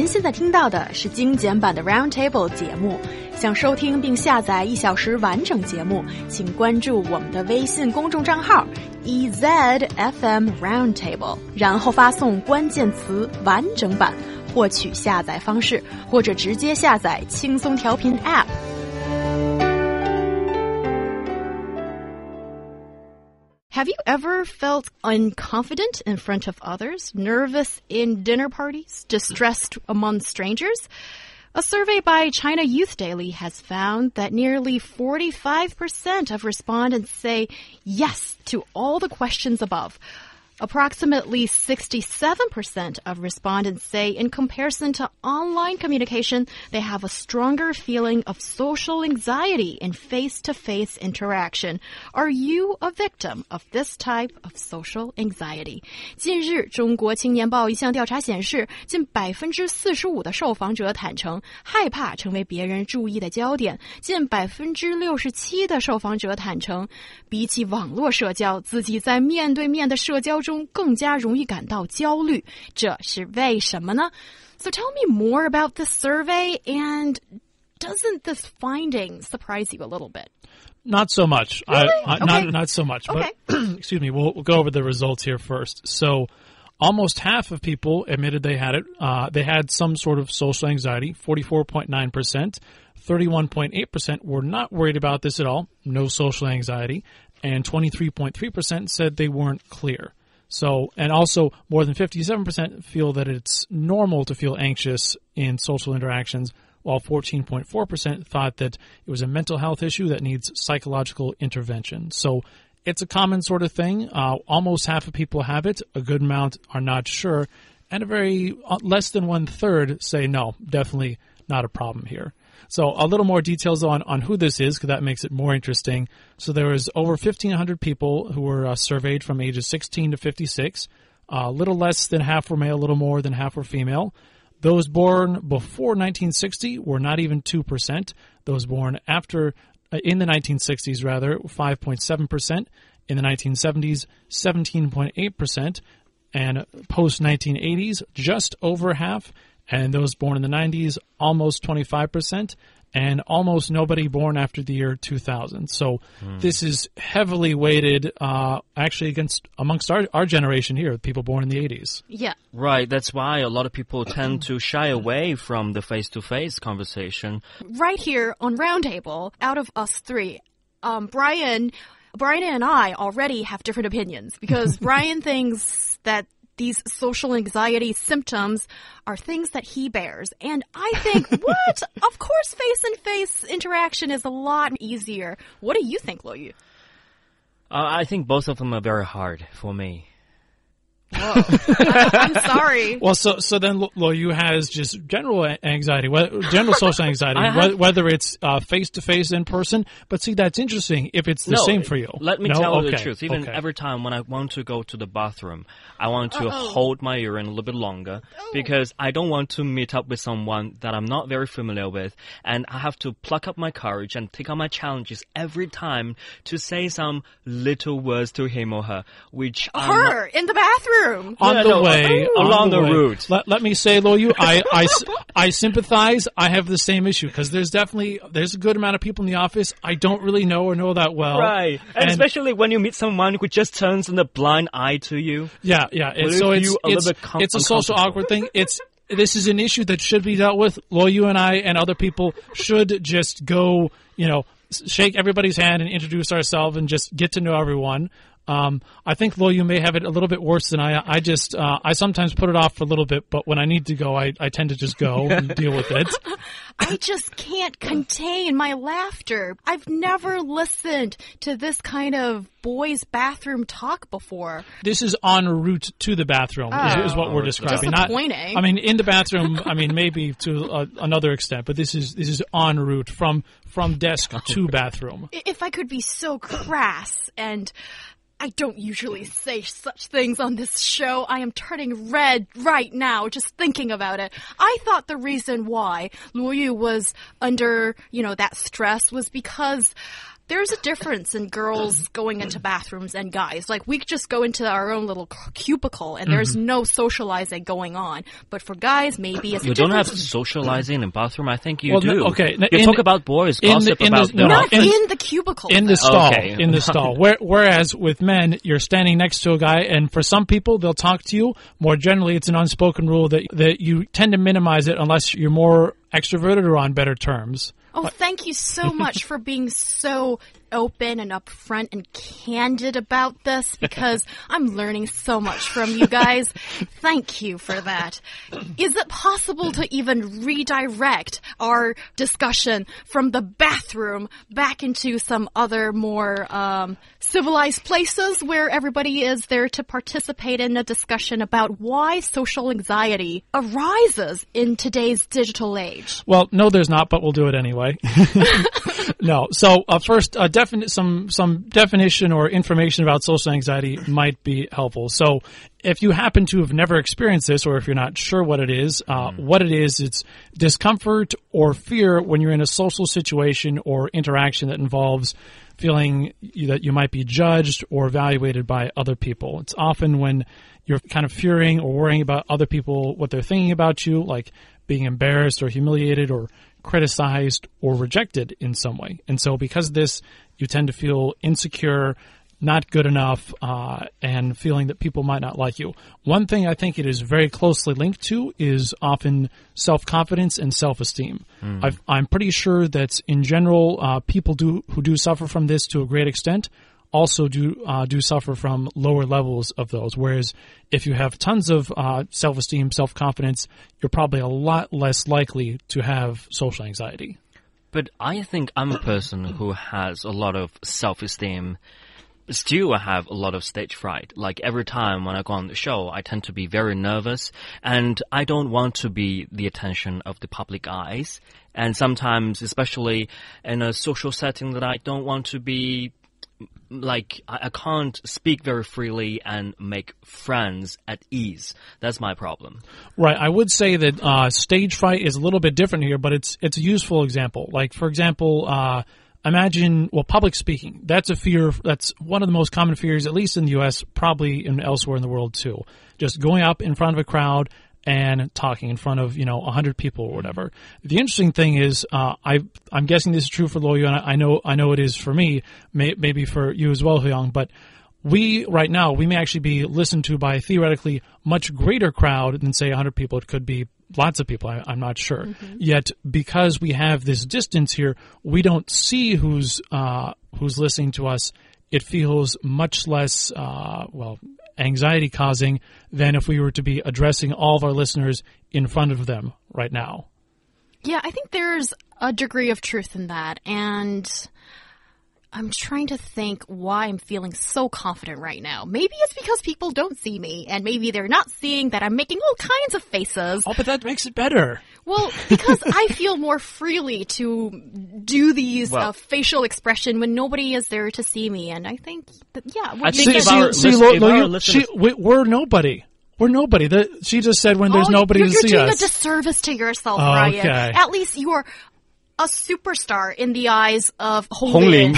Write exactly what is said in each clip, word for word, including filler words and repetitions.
现在听到的是精简版的 Roundtable 节目。想收听并下载一小时完整节目，请关注我们的微信公众账号 E Z F M Roundtable， 然后发送关键词完整版获取下载方式，或者直接下载轻松调频 App。Have you ever felt unconfident in front of others, nervous in dinner parties, distressed among strangers? A survey by China Youth Daily has found that nearly forty-five percent of respondents say yes to all the questions above. Approximately sixty-seven percent of respondents say in comparison to online communication, they have a stronger feeling of social anxiety in face-to-face interaction. Are you a victim of this type of social anxiety? 近日，中国青年报一项调查显示，近 百分之四十五 的受访者坦诚害怕成为别人注意的焦点，近 百分之六十七 的受访者坦诚，比起网络社交，自己在面对面的社交中更加容易感到焦虑，这是为什么呢？ So tell me more about this survey, and doesn't this finding surprise you a little bit? Not so much. Really? I, I, okay. Not not so much. Okay. But excuse me. We'll, we'll go over the results here first. So, almost half of people admitted they had it. Uh, they had some sort of social anxiety. Forty-four point nine percent. Thirty-one point eight percent were not worried about this at all. No social anxiety, and twenty-three point three percent said they weren't clear. So, and also more than fifty-seven percent feel that it's normal to feel anxious in social interactions, while fourteen point four percent thought that it was a mental health issue that needs psychological intervention. So it's a common sort of thing. Uh, almost half of people have it. A good amount are not sure. And a very uh, less than one third say no, definitely not a problem here. So a little more details on, on who this is, because that makes it more interesting. So there was over fifteen hundred people who were uh, surveyed from ages sixteen to fifty-six. A uh, little less than half were male, a little more than half were female. Those born before nineteen sixty were not even two percent. Those born after, uh, in the nineteen sixties rather, five point seven percent. In the nineteen seventies, seventeen point eight percent. And post nineteen eighties, just over half. And those born in the nineties, almost twenty-five percent, and almost nobody born after the year two thousand. So mm. this is heavily weighted, uh, actually against amongst our, our generation here, people born in the eighties. Yeah. Right. That's why a lot of people tend to shy away from the face-to-face conversation. Right here on Roundtable, out of us three, um, Brian, Brian and I already have different opinions because Brian thinks that these social anxiety symptoms are things that he bears. And I think, what? Of course, face-and-face interaction is a lot easier. What do you think, Luo Yu? Uh, I think both of them are very hard for me. Whoa. I, I'm sorry. Well, so so then Luo Yu has just general anxiety, general social anxiety, have, whether it's uh, face-to-face in person. But see, that's interesting if it's the no, same for you. Let me no? tell you okay. the truth. Even okay. every time when I want to go to the bathroom, I want to Uh-oh. hold my urine a little bit longer oh. because I don't want to meet up with someone that I'm not very familiar with. And I have to pluck up my courage and take on my challenges every time to say some little words to him or her, which Her in the bathroom. On yeah, the no, way, uh, along the, the way. route. Let, let me say, Luo Yu, I, I, I sympathize. I have the same issue because there's definitely, there's a good amount of people in the office I don't really know or know that well. Right. And, and especially when you meet someone who just turns a blind eye to you. Yeah, yeah. And so it's, a it's, com- it's a social awkward thing. It's, this is an issue that should be dealt with. Luo Yu and I and other people should just go, you know, shake everybody's hand and introduce ourselves and just get to know everyone. Um, I think, Luo Yu may have it a little bit worse than I. I just, uh, I sometimes put it off for a little bit, but when I need to go, I, I tend to just go and deal with it. I just can't contain my laughter. I've never listened to this kind of boys' bathroom talk before. This is en route to the bathroom, oh. is, is what we're describing. Disappointing. Not, I mean, in the bathroom, I mean, maybe to uh, another extent, but this is, this is en route from, from desk to bathroom. If I could be so crass and I don't usually say such things on this show. I am turning red right now just thinking about it. I thought the reason why Luo Yu was under, you know, that stress was because there's a difference in girls going into bathrooms and guys. Like, we just go into our own little cubicle, and there's mm-hmm. no socializing going on. But for guys, maybe it's you don't have socializing in bathroom. I think you well, do. No, okay, you in, talk about boys, gossip the, about the, no, not in, in the cubicle. In the stall. Okay. In the stall. Where, whereas with men, you're standing next to a guy, and for some people, they'll talk to you. More generally, it's an unspoken rule that that you tend to minimize it unless you're more extroverted or on better terms. Oh, thank you so much for being so open and upfront and candid about this, because I'm learning so much from you guys. Thank you for that. Is it possible to even redirect our discussion from the bathroom back into some other more um, civilized places where everybody is there to participate in a discussion about why social anxiety arises in today's digital age? Well, no, there's not, but we'll do it anyway. No. So uh, first, uh, defini- some some definition or information about social anxiety might be helpful. So if you happen to have never experienced this, or if you're not sure what it is, uh, mm. what it is, it's discomfort or fear when you're in a social situation or interaction that involves feeling that you might be judged or evaluated by other people. It's often when you're kind of fearing or worrying about other people, what they're thinking about you, like being embarrassed or humiliated or criticized or rejected in some way. And so because of this, you tend to feel insecure, not good enough, uh, and feeling that people might not like you. One thing I think it is very closely linked to is often self-confidence and self-esteem. Mm. I've, I'm pretty sure that in general, uh, people do who do suffer from this to a great extent also do uh, do suffer from lower levels of those. Whereas if you have tons of uh, self-esteem, self-confidence, you're probably a lot less likely to have social anxiety. But I think I'm a person who has a lot of self-esteem. Still, I have a lot of stage fright. Like every time when I go on the show, I tend to be very nervous, and I don't want to be the attention of the public eyes. And sometimes, especially in a social setting, that I don't want to be like, I, I can't speak very freely and make friends at ease. That's my problem. Right. I would say that uh, stage fright is a little bit different here, but it's it's a useful example. Like, for example, uh, imagine, well, public speaking. That's a fear. That's one of the most common fears, at least in the U S, probably in elsewhere in the world too. Just going up in front of a crowd and talking in front of, you know, a hundred people or whatever. The interesting thing is, uh, I, I'm guessing this is true for Luoyu, and I know, I know it is for me, may, maybe for you as well, Huyang, but we, right now, we may actually be listened to by a theoretically much greater crowd than, say, a hundred people. It could be lots of people, I, I'm not sure. Mm-hmm. Yet, because we have this distance here, we don't see who's, uh, who's listening to us. It feels much less, uh, well, anxiety-causing than if we were to be addressing all of our listeners in front of them right now. Yeah, I think there's a degree of truth in that, and I'm trying to think why I'm feeling so confident right now. Maybe it's because people don't see me, and maybe they're not seeing that I'm making all kinds of faces. Oh, but that makes it better. Well, because I feel more freely to do these well, uh, facial expression when nobody is there to see me, and I think that, yeah. I think if see, our, see, listen, Lo, if Lo, our you, she, we, we're nobody. We're nobody. The, she just said when there's oh, nobody you're, to you're see doing us. a disservice to yourself, oh, Ryan. Okay. At least you're a superstar in the eyes of Hong Lin.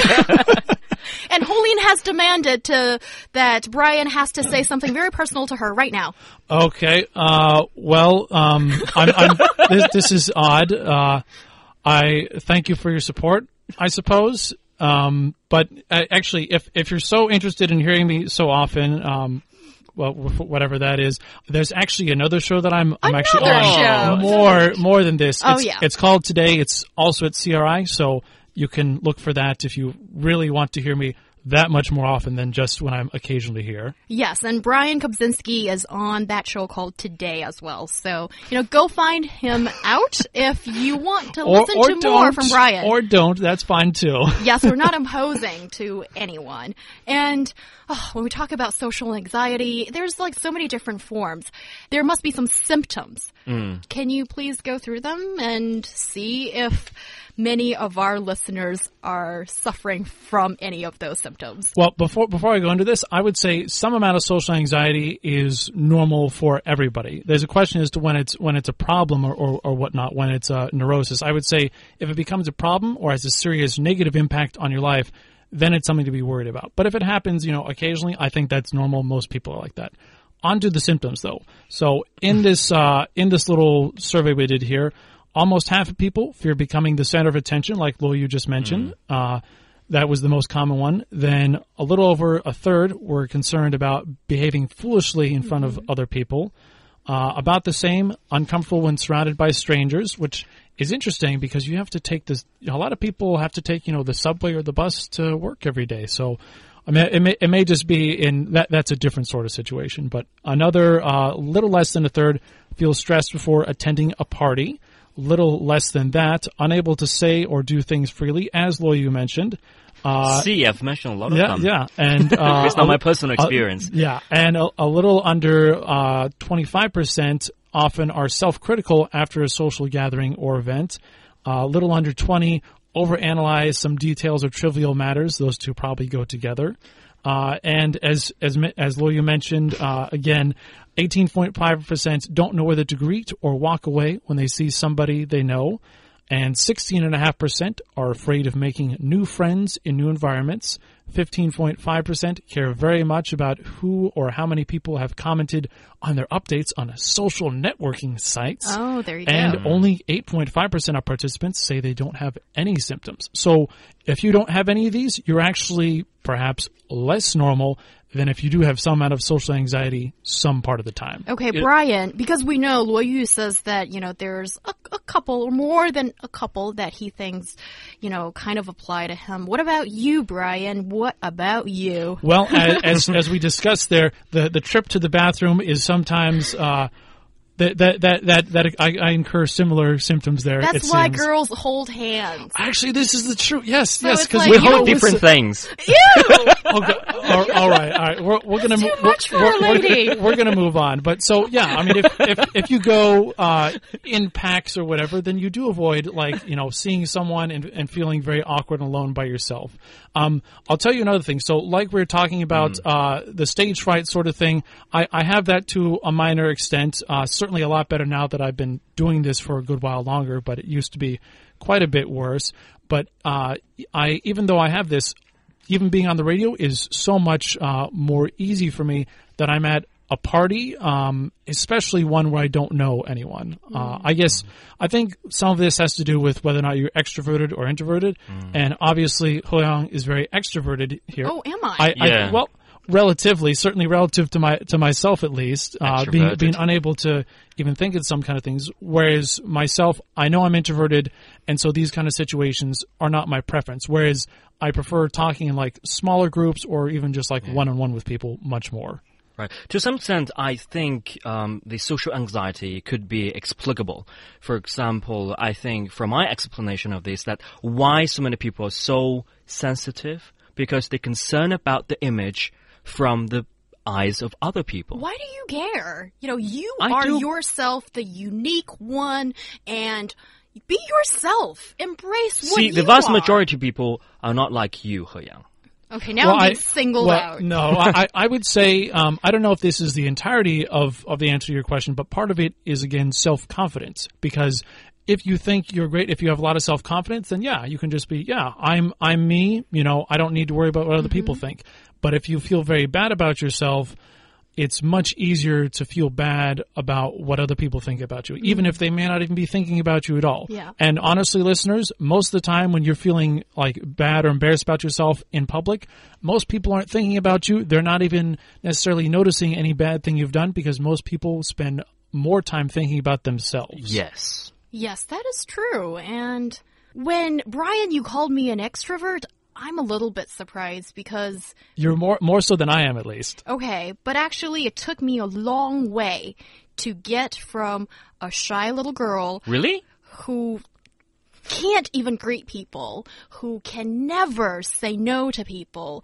And Hong Lin has demanded to that Brian has to say something very personal to her right now. Okay. Uh, well, um, I'm, I'm, this, this is odd. Uh, I thank you for your support, I suppose. Um, but uh, actually, if if you're so interested in hearing me so often, um, well, whatever that is, there's actually another show that I'm I'm another actually on show. more more than this. Oh it's, yeah. It's called Today. It's also at C R I, so you can look for that if you really want to hear me that much more often than just when I'm occasionally here. Yes, and Brian Kobzinski is on that show called Today as well. So, you know, go find him out if you want to or, listen or to more from Brian. Or don't, that's fine too. Yes, we're not imposing to anyone. And oh, when we talk about social anxiety, there's like so many different forms. There must be some symptoms. Mm. Can you please go through them and see if many of our listeners are suffering from any of those symptoms? symptoms? Well, before before I go into this, I would say some amount of social anxiety is normal for everybody. There's a question as to when it's when it's a problem or, or, or whatnot, when it's a neurosis. I would say if it becomes a problem or has a serious negative impact on your life, then it's something to be worried about. But if it happens, you know, occasionally, I think that's normal. Most people are like that. On to the symptoms, though. So in this uh, in this little survey we did here, almost half of people fear becoming the center of attention, like Lo you just mentioned. Mm. Uh, that was the most common one. Then a little over a third were concerned about behaving foolishly in front mm-hmm. of other people. Uh, about the same, uncomfortable when surrounded by strangers, which is interesting because you have to take this. A lot of people have to take, you know, the subway or the bus to work every day. So, I mean, it may, it may just be in that. That's a different sort of situation. But another uh, little less than a third feel stressed before attending a party. Little less than that, unable to say or do things freely, as Lo you mentioned. Uh, See, I've mentioned a lot of yeah, them. Yeah, and uh, it's not my personal experience. Uh, yeah, and a, a little under uh, twenty-five percent often are self-critical after a social gathering or event. A uh, little under twenty overanalyze some details or trivial matters. Those two probably go together. Uh, and as as as Lo you mentioned, uh, again, eighteen point five percent don't know whether to greet or walk away when they see somebody they know. And sixteen point five percent are afraid of making new friends in new environments. fifteen point five percent care very much about who or how many people have commented on their updates on social networking sites. Oh, there you and go. And only eight point five percent of participants say they don't have any symptoms. So if you don't have any of these, you're actually perhaps less normal than if you do have some amount of social anxiety some part of the time. Okay, it, Brian, because we know Lo Yu says that, you know, there's a, a couple or more than a couple that he thinks, you know, kind of apply to him. What about you, Brian? What about you? Well, as, as as we discussed there, the, the trip to the bathroom is sometimes... Uh, That that that that, that I, I incur similar symptoms there. That's it why seems. girls hold hands. Actually, this is the truth. Yes, so yes, because like, we hold different things. Ew! Okay, all, all right, all right. We're we're gonna Too move. much We're, for we're, a lady. we're, we're gonna move on. But so yeah, I mean, if if if you go uh, in packs or whatever, then you do avoid like you know seeing someone and and feeling very awkward and alone by yourself. Um, I'll tell you another thing. So like we were talking about mm. uh, the stage fright sort of thing, I I have that to a minor extent. Uh, certainly a lot better now that I've been doing this for a good while longer, but it used to be quite a bit worse. But uh, I, even though I have this, even being on the radio is so much uh, more easy for me that I'm at a party, um, especially one where I don't know anyone. Mm. Uh, I guess I think some of this has to do with whether or not you're extroverted or introverted, mm. and obviously Hoyang is very extroverted here. Oh, am I? I, yeah. I well. Relatively, certainly relative to my to myself at least, uh, being being unable to even think of some kind of things. Whereas myself, I know I'm introverted, and so these kind of situations are not my preference. Whereas I prefer talking in like smaller groups or even just like one on one with people much more. Right. To some extent, I think um, the social anxiety could be explicable. For example, I think from my explanation of this, that why so many people are so sensitive because they're concerned about the image from the eyes of other people. Why do you care? You know, you I are do. yourself, the unique one, and be yourself. Embrace what See, you the vast are. majority of people are not like you, He Yang. Okay, now well, I'm being I, singled well, out. No, I, I would say, um, I don't know if this is the entirety of, of the answer to your question, but part of it is, again, self-confidence. Because if you think you're great, if you have a lot of self-confidence, then yeah, you can just be, yeah, I'm I'm me, you know, I don't need to worry about what other mm-hmm. people think. But if you feel very bad about yourself, it's much easier to feel bad about what other people think about you, even if they may not even be thinking about you at all. Yeah. And honestly, listeners, most of the time when you're feeling like bad or embarrassed about yourself in public, most people aren't thinking about you. They're not even necessarily noticing any bad thing you've done because most people spend more time thinking about themselves. Yes. Yes, that is true. And when, Brian, you called me an extrovert, I'm a little bit surprised because... You're more more so than I am, at least. Okay, but actually it took me a long way to get from a shy little girl... Really? ...who can't even greet people, who can never say no to people,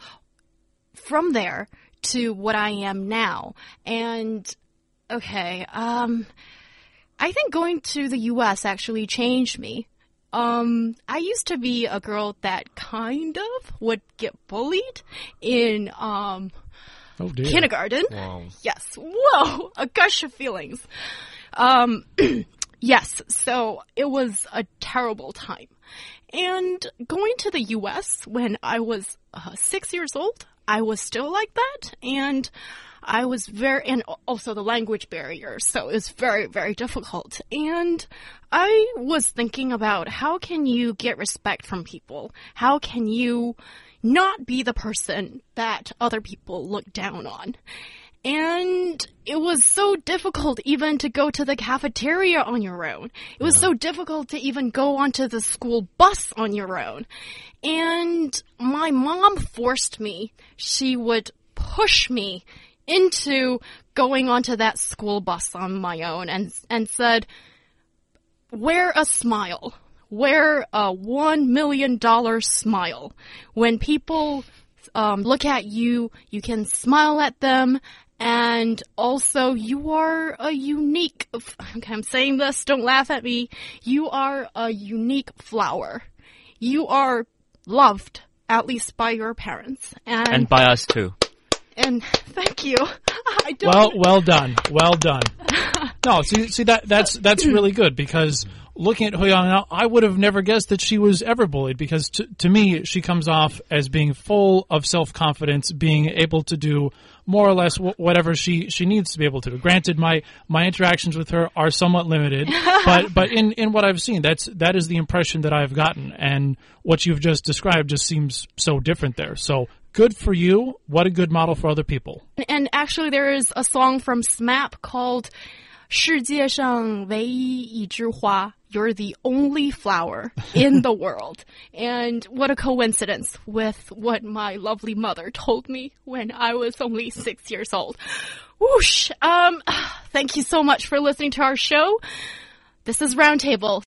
from there to what I am now. And, okay, um... I think going to the U S actually changed me. um, I used to be a girl that kind of would get bullied in um, oh dear. kindergarten. Wow. Yes. Whoa, a gush of feelings. Um, yes, so it was a terrible time. And going to the U S when I was uh, six years old, I was still like that. And I was very, and also the language barrier, so it was very, very difficult. And I was thinking about how can you get respect from people? How can you not be the person that other people look down on? And it was so difficult even to go to the cafeteria on your own. It was yeah. so difficult to even go onto the school bus on your own. And my mom forced me. She would push me into going onto that school bus on my own and and said, wear a smile. Wear a one million dollar smile. When people um, look at you, you can smile at them. And also, you are a unique, okay, I'm saying this, don't laugh at me. You are a unique flower. You are loved, at least by your parents. And, and by us too. And thank you. I don't well, well done. Well done. No, see, see that that's that's really good because looking at Huiyang now, I would have never guessed that she was ever bullied because to, to me, she comes off as being full of self-confidence, being able to do more or less w- whatever she, she needs to be able to do. Granted, my, my interactions with her are somewhat limited, but but in, in what I've seen, that's that is the impression that I've gotten, and what you've just described just seems so different there. So good for you. What a good model for other people. And actually, there is a song from S M A P called 世界上唯一一枝花, you're the only flower in the world. And what a coincidence with what my lovely mother told me when I was only six years old. Whoosh! Um, thank you so much for listening to our show. This is Roundtable.